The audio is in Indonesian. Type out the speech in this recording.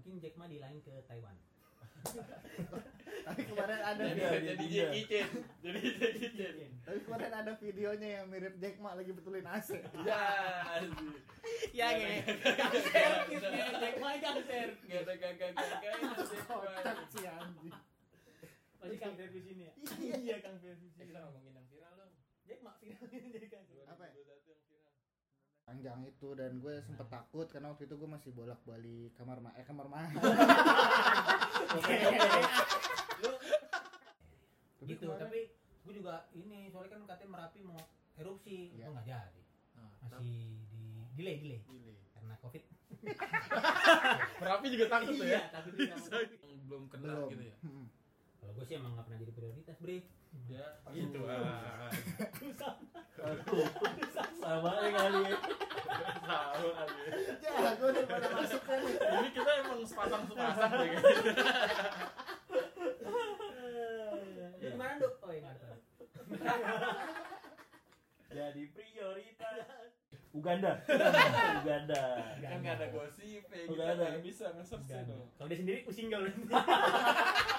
mungkin Jack Ma dilain ke Taiwan. Tapi kemarin ada jadi Jackie Chan. Jadi Jackie Chan. Tapi kemarin ada videonya yang mirip Jack Ma lagi betulin AC. Ya, anjir. Ya nge. Servis Jack Ma kan servis. Enggak ada gagak-gagak. Kocak sih anjing. Masih Kang servis ini ya? Iya Kang servis. Kita ngomongin yang viral dong. Jack Ma viral jadi Kang. Apa ya? 2021 yang viral. Panjang itu dan gue sempet takut karena waktu itu gue masih bolak-balik kamar mandi. Lu gitu, tapi gue juga ini soalnya kan katanya Merapi mau erupsi, itu nggak jadi. Masih delay karena Covid. Merapi juga takut tuh ya? Iya, takut juga. Belum kenal gitu ya? Kalau gue sih emang nggak pernah jadi prioritas, Bre. Ya, gitu. Sama kali ya. Tahu aja. Ya, gue udah pada masuk kan. Ini kita emang sepasang deh kayaknya. Di mana, Dok? Oh, enggak tahu. Jadi prioritas Uganda. Kan nggak ada gosip, Nggak ada. nggak bisa nge-search dong. Kalau dia sendiri pusing gak lu?